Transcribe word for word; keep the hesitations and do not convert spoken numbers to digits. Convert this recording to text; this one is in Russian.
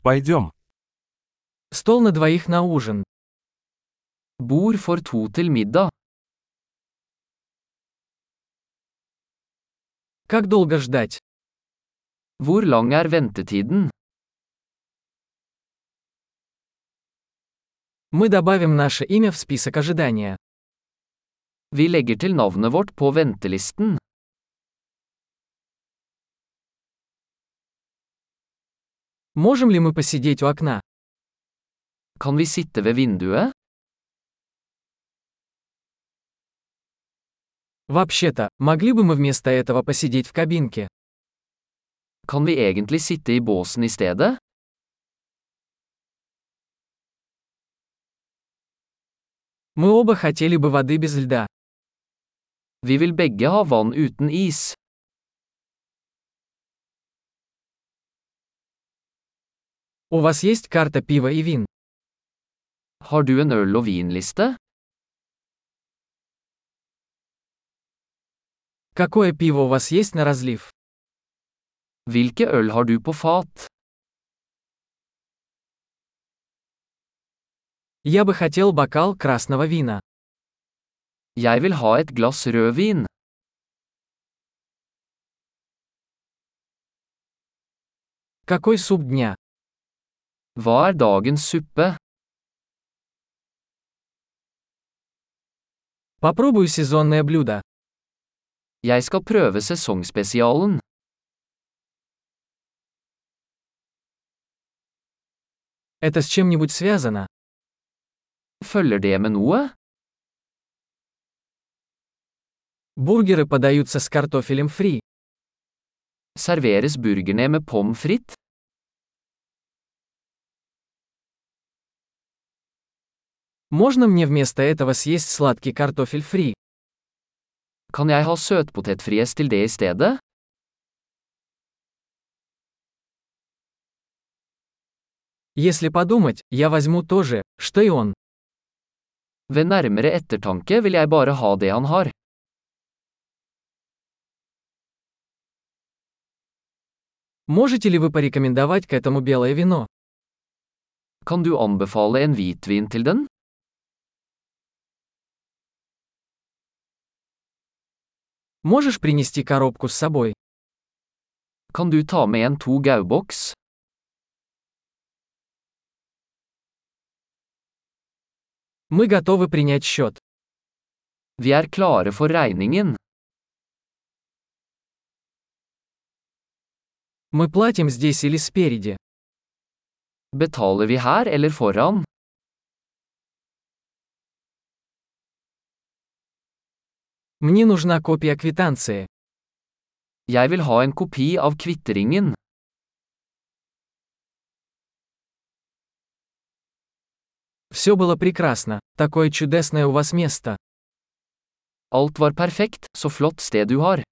Пойдем. Стол на двоих на ужин. Bord for to til middag. Как долго ждать? Hvor lang er ventetiden? Мы добавим наше имя в список ожидания. Vi legger til navnet vårt på ventelisten. Можем ли мы посидеть у окна? Kan vi sitte ved vinduet? Вообще-то, могли бы мы вместо этого посидеть в кабинке? Kan vi egentlig sitte i båsen i stedet? Мы оба хотели бы воды без льда. Vi vil begge ha vann uten is. У вас есть карта пива и вин? Har du en øl- og vinliste? Какое пиво у вас есть на разлив? Hvilke øl har du på fat? Я бы хотел бокал красного вина. Jeg vil ha et glass rødvin. Какой суп дня? Hva er dagens suppe? Попробую сезонное блюдо. Jeg skal prøve sesongspesialen. Это с чем-нибудь связано? Følger det med noe? Бургеры подаются с картофелем фри. Serveres burgerne med pommes frites? Можно мне вместо этого съесть сладкий картофель фри? Kan jeg ha søtpotetfries til det i stedet? Если подумать, я возьму то же, что и он. Ved nærmere ettertanke vil jeg bare ha det han har. Можете ли вы порекомендовать к этому белое вино? Kan du anbefale en hvitvin til den? Можешь принести коробку с собой? Kan du ta med en to gauboks? Мы готовы принять счет. Vi er klare for regningen. Мы платим здесь или спереди? Betaler vi her eller foran? Мне нужна копия квитанции. Jeg vil ha en kopi av kvitteringen. Все было прекрасно. Такое чудесное у вас место. Alt var perfekt, så flott sted du har.